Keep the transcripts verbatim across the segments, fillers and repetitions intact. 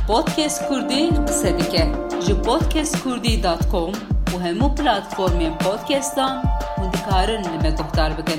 Podcast Kurdî qise dike ji podcast kurdî dot com û hemû platformên podcastan hûn dikarin li me guhdar bikin.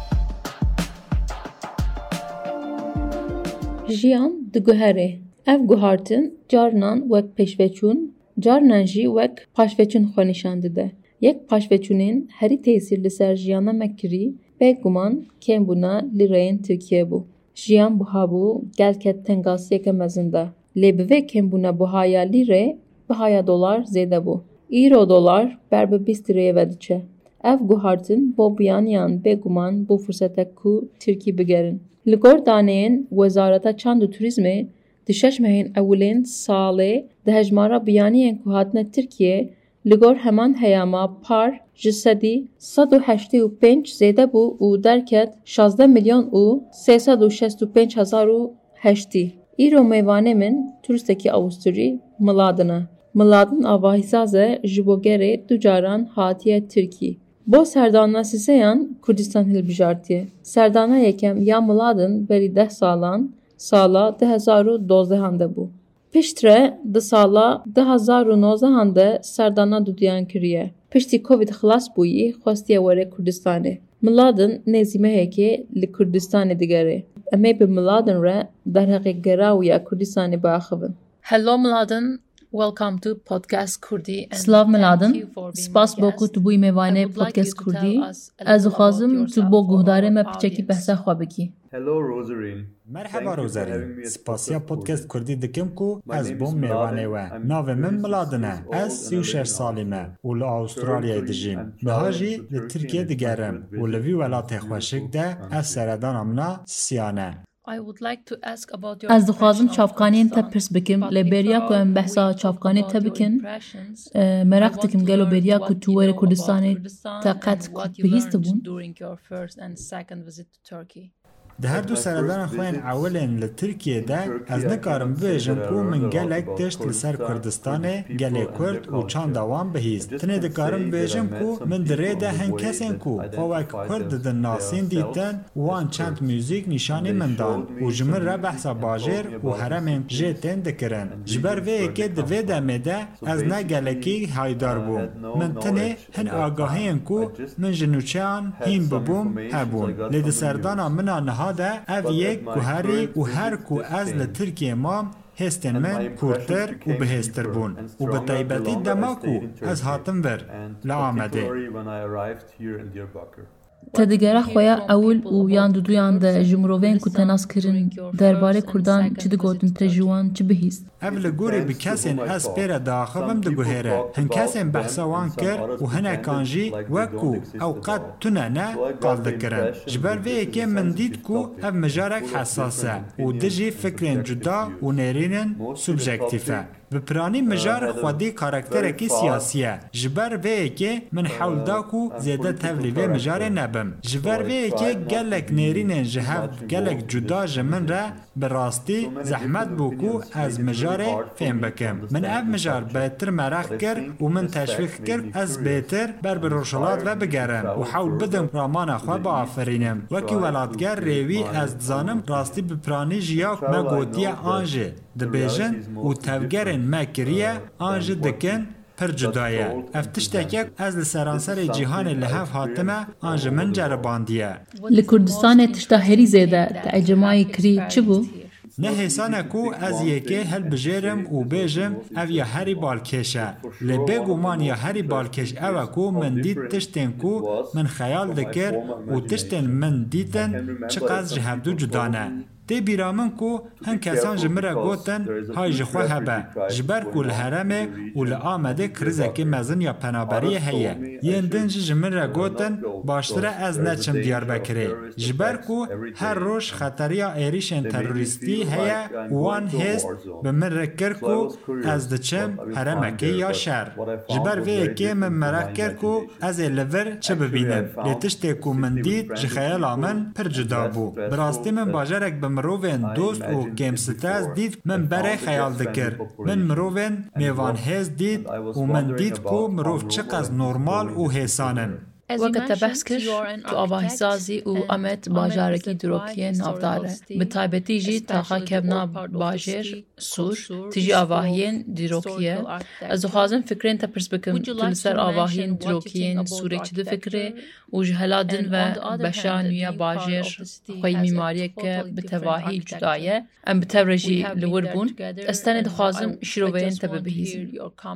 Jiyan diguhere. Ev guhartin carinan wek pêşveçûn, carinan jî wek paşveçûn xwe nîşan dide. Yek paşveçûnên herî tesîr li ser jiyana me kirî, bêguman kêmbûna lîreyên Tirkiye bû. Jiyan buha bû gelek tengasiyeke mezin de. Lê bi vê kêmbûna buhaya lîrê, bihaya dolar zêde bû. Îro dolar ber bi bîst lîreyê ve diçe. Ev guhartin bo biyaniyan bêguman bû fursetek ku Tirkî bigerin. Li gor daneyên Wezareta Çand û Turizmê di şeş mehên ewilên salê di hejmara biyaniyên ku hatine Tirkiye li gor heman heyama par ji sedî sed û heştê û pênc zêde bû û derket şazdeh milyon û sê sed û şest û pênc hezar û heştî. Îro mêvanê min turistekî Avustrî Miladin e. Miladin avahîsaze ji bo gerê du caran hatiye Tirkî. Bo serdana sîseyan Kurdistan hilbijartiye. Serdana yekem ya Miladin berî deh salan sala di hezar û dozdehan de bû. Piştre di sala di hezar û nozdehan de serdana duduyan kiriye. Piştî Covid xilas bûyî xwestiye were Kurdistanê. Miladin nêzîmehekê li Kurdistanê digere. Em ê bi Miladin re derheqê gera û ya Kurdistanê biaxivin. Hello Miladin, welcome to Podcast Kurdî. Slav Miladin, spas bo ku tu bûyî mêvanê Podcast Kurdî. Ez dixwazim tu bo guhdarê me piçekî behsa xwe bikî. Hello Rosarine. Merhaba Rosarine. Spasiya Podcast Kurdî dikim ku ez bom mêvanê we. Navê min Miladin e. Ez sî û şeş salî me û li Avustralyayê dijîm. Niha jî li Tirkiye digerim û li vî welatê xweşik de ez seredana min a Sisiyan e. I would like to ask about your Ez dixwazim çavkaniyên te pirs bikim. Lê bêriya ku em behsa çavkanê te bikin, merak dikim gelo bêriya ku tu were Kurdistanê te qet bihîst dibûn. during your first and second visit to Turkey. Di her du seredana xwe yên ewilên li Tirkiyeyê de ez nikarim bibêjim ku min gelek tişt li ser Kurdistanê, gelê Kurd û çanda wan bihîst. Tinê dikarim bibêjim ku min di rê de hin kesên ku xwe wek Kurd didin nasîn dîtin wan çend müzik nîşanî min dan û ji min re behsa bajêr û heremên jê tên dikirin. Ji ber vê yekê di vê demê de ez ne gelekî haydar bûm. Min tinê hin agahiyên ku min ji nûçeyan hîn bibûm hebûn. Lê di serdana min a niha de ev yek guherî û her ku ez li Tirkiye mam hêstên min kûrtir û bihêztir bûn û bi taybetî dema ku ez hatim vir li Amedê. Te digera xweya ewil û yan duduyan de ji mirovên ku te nas kirin derbarê Kurdan çi digotin te ji wan çi bihîst? Ev li gorî bi kesên ez pêre diaxivim diguhere. Hin kesên behsa wan kir û hinekan jî wek ku ew qet tune ne qal dikirin. Ji ber vê yekê min dît ku ev mijarek hesas e û di jî fikrên cuda û nêrînin subjektif e. Bi piranî mijar xwedî karakterekî siyasî ye. Ji ber vê yekê min hewl da ku zêde tevlî vê mijarê nebim. Ji ber vê yekê gelek nêrînên ji hev gelek cuda ji min re bi rastî zehmet bû ku ez mijarê fêm bikim. Min ev mijar bêtir merex kir û min teşvîq kir ez bêtir ber bi rojhilat ve bigerim û hewl bidim ramana xwe biafirînim. Wekî welatger rêwî ez dizanim rastî bi piranî jiya me gotiye an jî dibêjin û tevgerên me kiriye an jî dikin pir cuda ye. Ev tiştekek ez li seranserê cîhanê li hev hatime an ji min ceribandiye. Li Kurdistanê tişta herî zêde te ecmayî kirî çi bû? Ne hêsane ku ez yekê hilbijêrim û bêjim ev ya herî balkêş e. Lê bêguman ya herî balkêş ew e ku min dît tiştên ku min xeyal dikir û tiştên min dîtin çi qas ji hevdû cuda ne. Tê bîra min ku hin kesan ji min re gotin hay ji xwe hebe ji ber ku li Herêmê û li Amedê krizekî mezin ya penaberiyê heye. Yên din jî ji min re gotin baştir e ez neçim Diyarbekirê ji ber ku her roj xeteriya êrişên terorîstî heye û wan hêst bi min re kir ku ez diçim herêmekê ya şer. Ji ber vê yekê min merak kir ku ez ê li vir çi bibînim. Lê tiştê ku min dît ji xeyala min pir cuda bû. Bi rastî min bajarek bi mirovên dost û kêmsitez dît min berê xeyal dikir. Min mirovên mêvanhêz dît û min dît ku mirov çi qas normal û hêsan in. وقت بحث کر تو آواهی سازی و امت باجارکی دروکیه نافداره به تایبتی جی تاخا کبنا باجر سور تیجی آواهین دروکیه از خوازم فکرین تا پرس بکم تلسر آواهین دروکیه سوری چه دو فکره و جهلادن و بشانویا باجر خوی میماریه که به تواهی جدایه ام به تورجی لور بون استانه دخوازم شروعین تا ببهیزم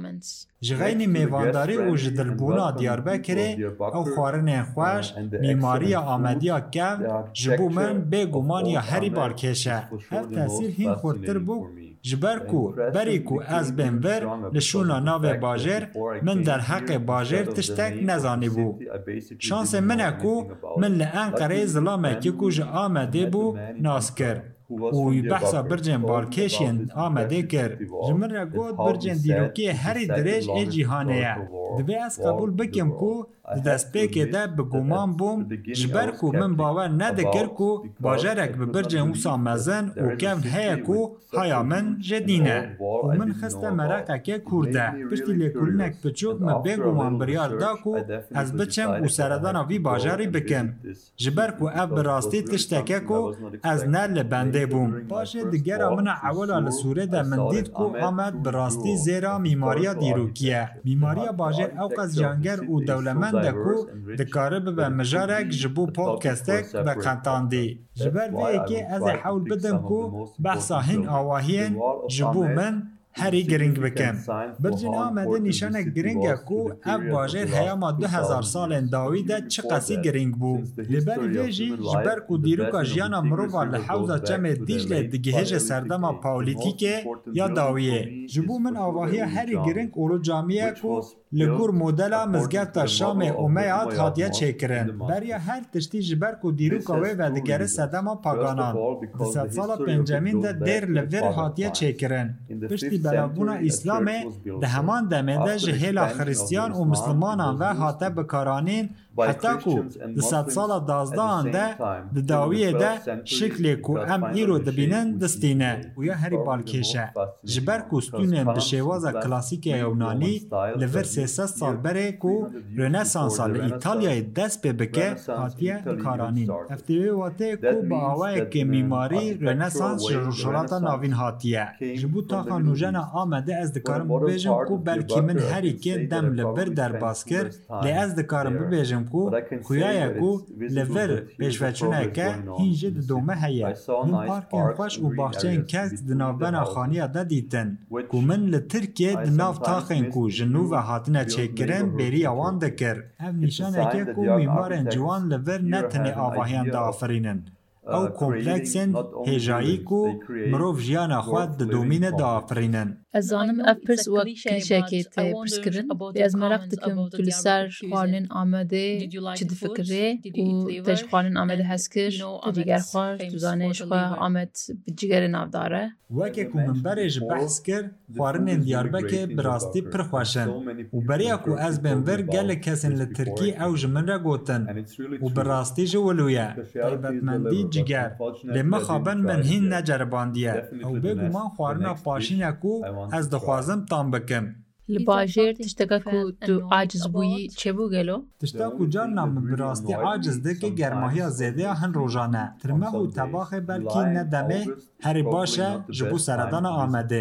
جغینی میوانداری و جدلبونا دیاربکره او خوارن خوش میماری آمدیا کم جبو من بگومان یا هری بارکشه هر تاثیر هین خورتر بو جبرکو بریکو از بنبر لشونا ناو باجر من در حق باجر تشتک نزانی بو شانس منکو من لانقره ظلامه که کج آمده بو ناس کر وی بحثا برجن بالکشین آمده کر جمن را گود برجن دیروکی هری درج ای جیهانه دوی از قبول بکم کو دست پیک ده بگومان بوم جبر کو من باور ندکر کو باجرک ببرجن وسا مزن و کم هیا کو هیا من جدینه و من خسته مرقه که کرده پشتی لیکولنک پچوک من بگومان بریار دا کو از بچم و سردان وی باجری بکم جبر کو اب براستی تشتکه کو از نل بنده بوم باشه دیگر من اولا لسوره ده من دید کو آمد براستی زیرا میماریا دیروکیه میماریا باجر او قز جانگر و دولمن دکو دکاره به مجارک جبو پودکستک به قنطاندی جبر وی که از حول بدم کو بحثا هین آواهین جبو من هری گرینگ بکم برجن آمده نشانه گرینگ کو اف باجر هیاما دو هزار سال داویده چه قسی گرینگ بو لبری ویجی جبر کو دیروکا جیانا مروفا لحوزا چم دیجل دگهج سردما پاولیتیکه یا داویه جبو من آواهی هری گرینگ اولو جامعه کو لگور مدلا مزگفت شام اومیات هاتیه چکرن بریا هر تشتی جبر کو دیروکا وی و دگره سردما پاگانان دست سالا پنجمین ده دیر لور هاتیه چکرن پشتی بلابونا اسلامه ده همان دمنده جهیلا خریستیان و مسلمانان و حتی بکارانین حتی کو ده ست سال دازدان ده ده داویه ده شکلی کو ام ایرو دبینن دستینه و یا هری بالکشه جبر کو ستونن به شواز کلاسیک یونانی لور سیست سال بره کو رنسانس ایتالیای دست به بکه حتیه کارانین افتیوی واته کو با آوه که میماری رنسانس جروشالاتا ناوین حتیه جبو تا خانوژن آمده از دکارم ببیجم کو بلکی من هری که دم لبر در باز کر لی از دکارم ببیجم کو خویای کو لبر پیشوچونه که هینجه دومه هیه من پارکین خوش و باخچین کس دنابن خانیه دا دیتن کو من لترکیه دناف تاخین کو جنو و حاتنه چکرن بری آوان دکر هم نشانه که کو میمارن جوان لبر نتنه آواهیان دا آفرینن او کمپلکسن هجایی کو مروف جیانا خواد د دومین دا آفرینن از آنم اف پرس وقت کلیشه که تی پرس کرن بی از مرق دکم تولی سر خوانین آمده چه دی فکره و تج خوانین آمده هست کر دیگر خوار دوزانش خواه آمد بجگر نافداره وکه کو من برش بحث کر خوارنین دیاربکه براستی پرخواشن و بریا کو از بنور گل کسن لترکی او جمن را گوتن و براستی جولویه طیبتمندی جگر لما خوابن من هین نجرباندیه او بگو من خوارنا پاشینه کو از دخوازم تام بکم لباجر تشتکه کو تو عاجز بویی چه بو گلو؟ تشتکه کو جان نام براستی عاجز ده که گرماهی زیده هن روزانه ترمه و طباخ بلکی ندمه هری باشه جبو سردان آمده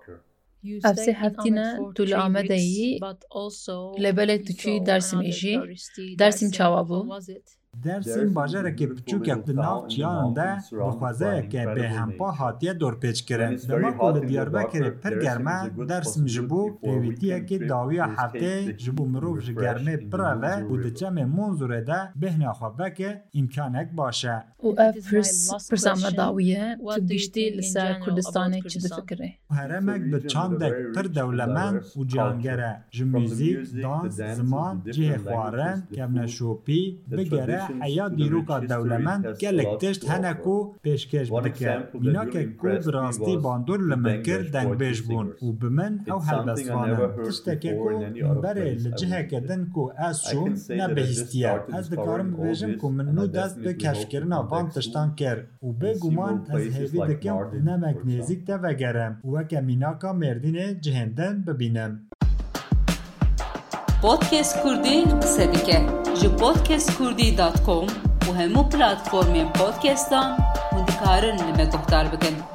افسه هفتینه طول آمده ای لبله توچی درسیم ایجی درسیم چاوابو درسیم باجره که بچوک یک ناف چیان ده بخوازه که به همپا حاتیه دور پیچ کرن دما کل دیاربکر پر گرمه درسیم جبو پیویتیه که داوی هفته جبو مروف جگرمه پروه و دچم منظوره ده بهنه خوابه که امکانک باشه و اف پرسامه داویه تو بیشتی لسر کردستانه چی ده فکره هرمک به چاندک پر دولمن و جانگره جموزیک، دانس، زمان، جه خوارن، کمنه شوپی بگره حیا دیروکا دولمن گلک تشت هنکو پیشکش بکر مینا که کو براستی باندور لمنکر دنگ بیش بون و بمن او حلبسوانن تشتکه کو بره لجهه کدن کو از شون نبهستیه از دکارم بیشم کو منو دست به کشکرنا وان تشتان کر و بگومان از هیوی دکم نمک نیزیک ده وگرم و که مینا که مردین جهندن ببینم پودکست کردی قصه دیکه ji podcast kurdî dot com û hemû platformên podcastan hûn dikarin li me guhdar bikin.